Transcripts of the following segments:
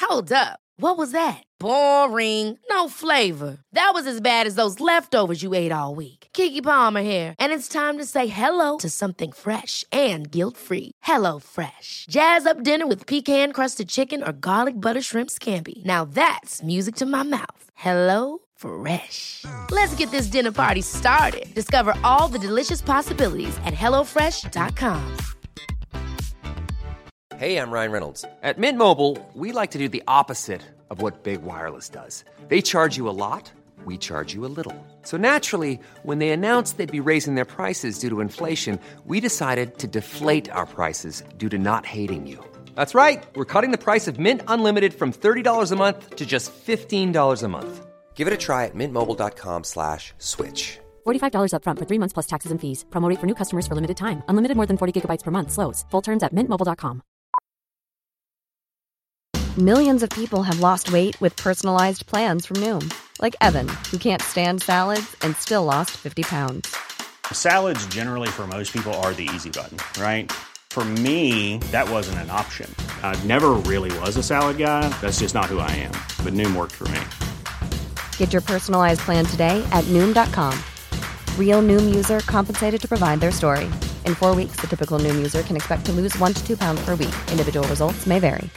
Hold up. What was that? Boring. No flavor. That was as bad as those leftovers you ate all week. Keke Palmer here, and it's time to say hello to something fresh and guilt-free. Hello Fresh. Jazz up dinner with pecan-crusted chicken or garlic butter shrimp scampi. Now that's music to my mouth. Hello Fresh. Let's get this dinner party started. Discover all the delicious possibilities at hellofresh.com. Hey, I'm Ryan Reynolds. At Mint Mobile, we like to do the opposite of what Big Wireless does. They charge you a lot, we charge you a little. So naturally, when they announced they'd be raising their prices due to inflation, we decided to deflate our prices due to not hating you. That's right. We're cutting the price of Mint Unlimited from $30 a month to just $15 a month. Give it a try at mintmobile.com/switch. $45 up front for 3 months plus taxes and fees. Promo rate for new customers for limited time. Unlimited more than 40 gigabytes per month. Slows full terms at mintmobile.com. Millions of people have lost weight with personalized plans from Noom. Like Evan, who can't stand salads and still lost 50 pounds. Salads generally for most people are the easy button, right? For me, that wasn't an option. I never really was a salad guy. That's just not who I am. But Noom worked for me. Get your personalized plan today at Noom.com. Real Noom user compensated to provide their story. In 4 weeks, the typical Noom user can expect to lose 1 to 2 pounds per week. Individual results may vary.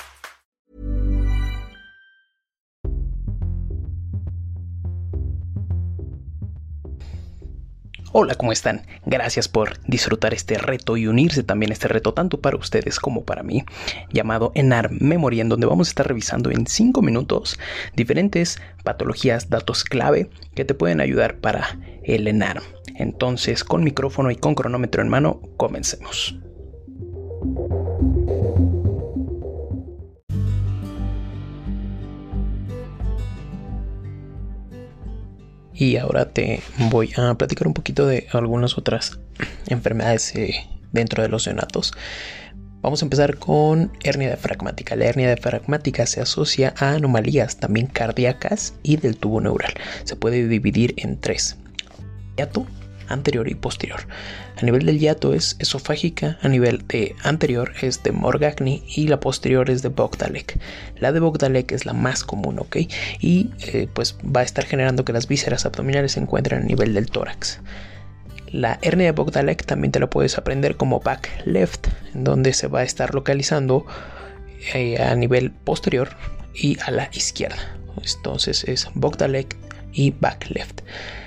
Hola, ¿cómo están? Gracias por disfrutar este reto y unirse también a este reto tanto para ustedes como para mí, llamado ENAR Memory, en donde vamos a estar revisando en 5 minutos diferentes patologías, datos clave que te pueden ayudar para el ENAR. Entonces, con micrófono y con cronómetro en mano, comencemos. Y ahora te voy a platicar un poquito de algunas otras enfermedades dentro de los neonatos. Vamos a empezar con hernia diafragmática. La hernia diafragmática se asocia a anomalías también cardíacas y del tubo neural. Se puede dividir en 3: hiato, anterior y posterior. A nivel del hiato es esofágica, a nivel de anterior es de Morgagni y la posterior es de Bogdalek. La de Bogdalek es la más común, ¿ok? Y pues va a estar generando que las vísceras abdominales se encuentren a nivel del tórax. La hernia de Bogdalek también te la puedes aprender como back left, en donde se va a estar localizando a nivel posterior y a la izquierda. Entonces es Bogdalek y back left.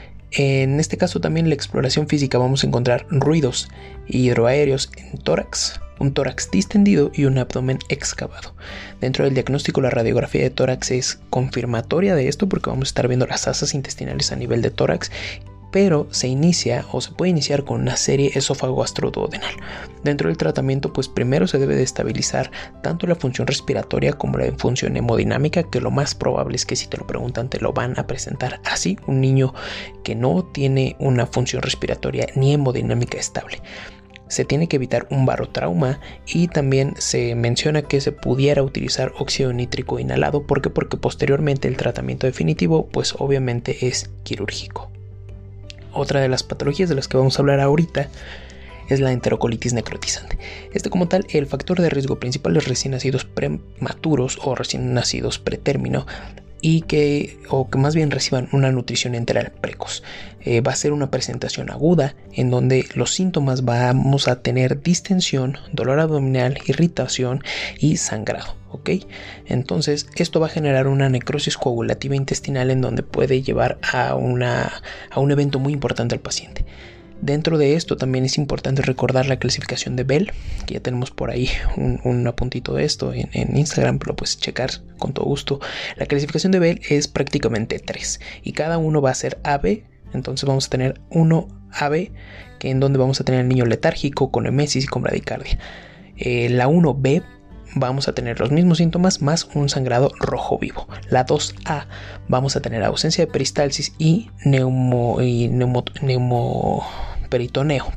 En este caso también la exploración física vamos a encontrar ruidos hidroaéreos en tórax, un tórax distendido y un abdomen excavado. Dentro del diagnóstico la radiografía de tórax es confirmatoria de esto porque vamos a estar viendo las asas intestinales a nivel de tórax, pero se inicia o se puede iniciar con una serie esófago-gastroduodenal. Dentro del tratamiento, pues primero se debe de estabilizar tanto la función respiratoria como la función hemodinámica, que lo más probable es que si te lo preguntan te lo van a presentar así, un niño que no tiene una función respiratoria ni hemodinámica estable. Se tiene que evitar un barotrauma y también se menciona que se pudiera utilizar óxido nítrico inhalado porque posteriormente el tratamiento definitivo pues obviamente es quirúrgico. Otra de las patologías de las que vamos a hablar ahorita es la enterocolitis necrotizante. Como tal, el factor de riesgo principal es recién nacidos prematuros o recién nacidos pretérmino y que más bien reciban una nutrición enteral precoz. Va a ser una presentación aguda en donde los síntomas vamos a tener distensión, dolor abdominal, irritación y sangrado. ¿Ok? Entonces esto va a generar una necrosis coagulativa intestinal en donde puede llevar a un evento muy importante al paciente. Dentro de esto también es importante recordar la clasificación de Bell, que ya tenemos por ahí un apuntito de esto en Instagram, lo puedes checar con todo gusto. La clasificación de Bell es prácticamente 3 y cada uno va a ser AB. Entonces vamos a tener 1 AB, que en donde vamos a tener al niño letárgico, con emesis y con bradicardia. La 1B vamos a tener los mismos síntomas más un sangrado rojo vivo. La 2A vamos a tener ausencia de peristalsis y neumoperitoneo.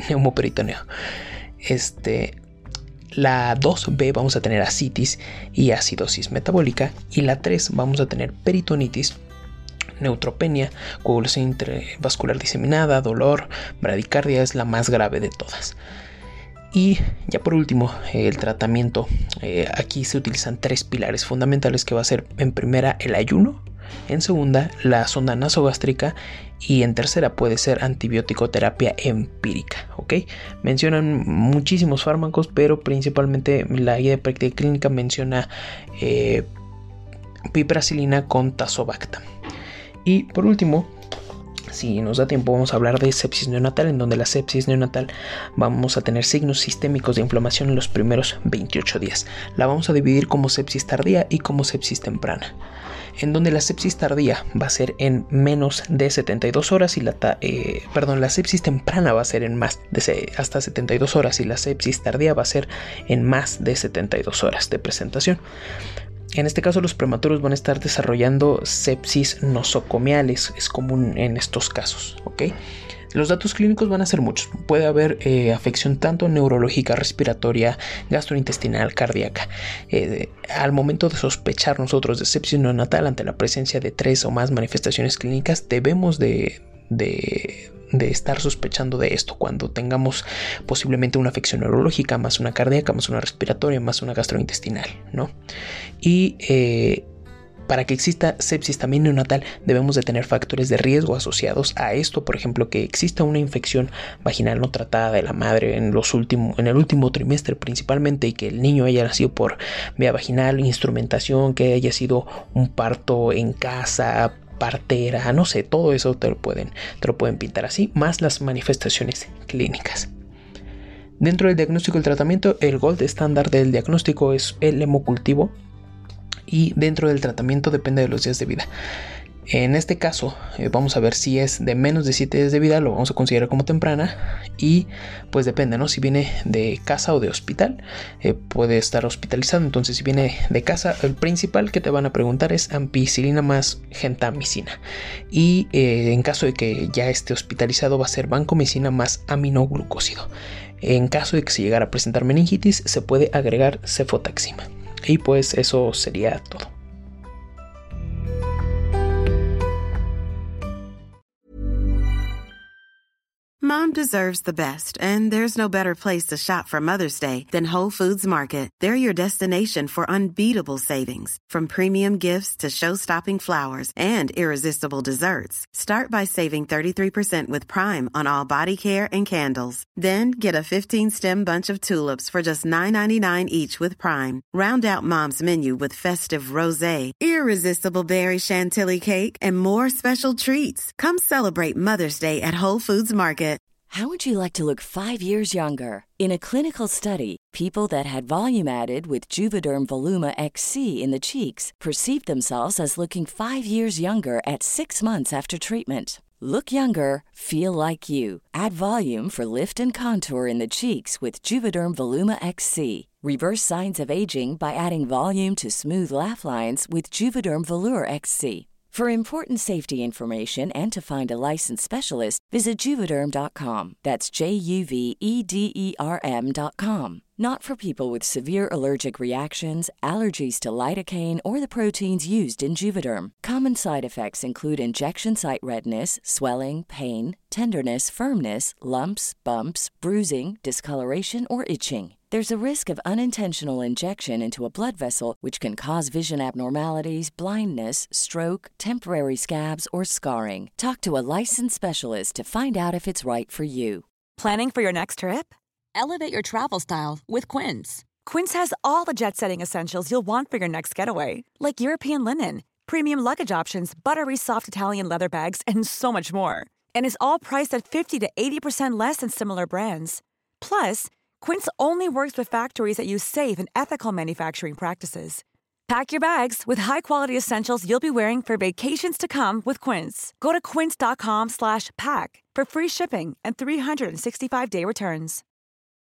La 2B vamos a tener ascitis y acidosis metabólica, y la 3 vamos a tener peritonitis, neutropenia, coagulación intravascular diseminada, dolor, bradicardia es la más grave de todas. Y ya por último, el tratamiento. Aquí se utilizan 3 pilares fundamentales, que va a ser en primera el ayuno, en segunda la sonda nasogástrica y en tercera puede ser antibiótico terapia empírica, ¿ok? Mencionan muchísimos fármacos, pero principalmente la guía de práctica clínica menciona piperacilina con tazobactam. Y por último, si nos da tiempo, vamos a hablar de sepsis neonatal, en donde la sepsis neonatal vamos a tener signos sistémicos de inflamación en los primeros 28 días. La vamos a dividir como sepsis tardía y como sepsis temprana, en donde la sepsis tardía va a ser en menos de 72 horas y la sepsis temprana va a ser en más de hasta 72 horas y la sepsis tardía va a ser en más de 72 horas de presentación. En este caso, los prematuros van a estar desarrollando sepsis nosocomiales, es común en estos casos, ¿ok? Los datos clínicos van a ser muchos. Puede haber afección tanto neurológica, respiratoria, gastrointestinal, cardíaca. Al momento de sospechar nosotros de sepsis neonatal ante la presencia de 3 o más manifestaciones clínicas, debemos de estar sospechando de esto cuando tengamos posiblemente una afección neurológica, más una cardíaca, más una respiratoria, más una gastrointestinal, ¿no? Y para que exista sepsis también neonatal debemos de tener factores de riesgo asociados a esto, por ejemplo, que exista una infección vaginal no tratada de la madre en el último trimestre principalmente, y que el niño haya nacido por vía vaginal, instrumentación, que haya sido un parto en casa, partera, no sé, todo eso te lo pueden pintar así, más las manifestaciones clínicas. Dentro del diagnóstico y el tratamiento, el gold estándar del diagnóstico es el hemocultivo, y dentro del tratamiento depende de los días de vida. En este caso, vamos a ver si es de menos de 7 días de vida, lo vamos a considerar como temprana, y pues depende, ¿no? Si viene de casa o de hospital, puede estar hospitalizado. Entonces, si viene de casa, el principal que te van a preguntar es ampicilina más gentamicina, y en caso de que ya esté hospitalizado va a ser vancomicina más aminoglucósido. En caso de que se llegara a presentar meningitis, se puede agregar cefotaxima. Y pues eso sería todo. Mom deserves the best, and there's no better place to shop for Mother's Day than Whole Foods Market. They're your destination for unbeatable savings, from premium gifts to show-stopping flowers and irresistible desserts. Start by saving 33% with Prime on all body care and candles. Then get a 15-stem bunch of tulips for just $9.99 each with Prime. Round out Mom's menu with festive rosé, irresistible berry chantilly cake, and more special treats. Come celebrate Mother's Day at Whole Foods Market. How would you like to look 5 years younger? In a clinical study, people that had volume added with Juvederm Voluma XC in the cheeks perceived themselves as looking 5 years younger at 6 months after treatment. Look younger, feel like you. Add volume for lift and contour in the cheeks with Juvederm Voluma XC. Reverse signs of aging by adding volume to smooth laugh lines with Juvederm Volure XC. For important safety information and to find a licensed specialist, visit Juvederm.com. That's JUVEDERM.com. Not for people with severe allergic reactions, allergies to lidocaine, or the proteins used in Juvederm. Common side effects include injection site redness, swelling, pain, tenderness, firmness, lumps, bumps, bruising, discoloration, or itching. There's a risk of unintentional injection into a blood vessel, which can cause vision abnormalities, blindness, stroke, temporary scabs, or scarring. Talk to a licensed specialist to find out if it's right for you. Planning for your next trip? Elevate your travel style with Quince. Quince has all the jet-setting essentials you'll want for your next getaway, like European linen, premium luggage options, buttery soft Italian leather bags, and so much more. And is all priced at 50 to 80% less than similar brands. Plus, Quince only works with factories that use safe and ethical manufacturing practices. Pack your bags with high-quality essentials you'll be wearing for vacations to come with Quince. Go to quince.com/pack for free shipping and 365-day returns.